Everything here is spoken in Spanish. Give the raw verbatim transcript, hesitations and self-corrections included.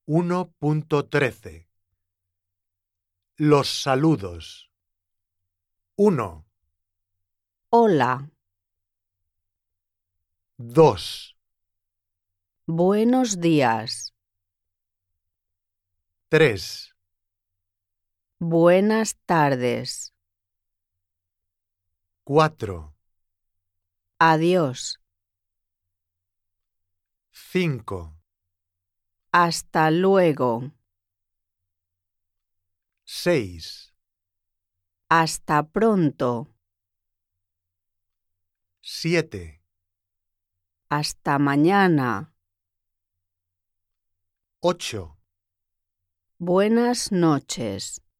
uno punto trece. Los saludos. uno, Hola, dos, buenos días, tres, buenas tardes, cuatro, adiós, cinco, hasta luego, seis, hasta pronto, siete, hasta mañana, ocho. buenas noches.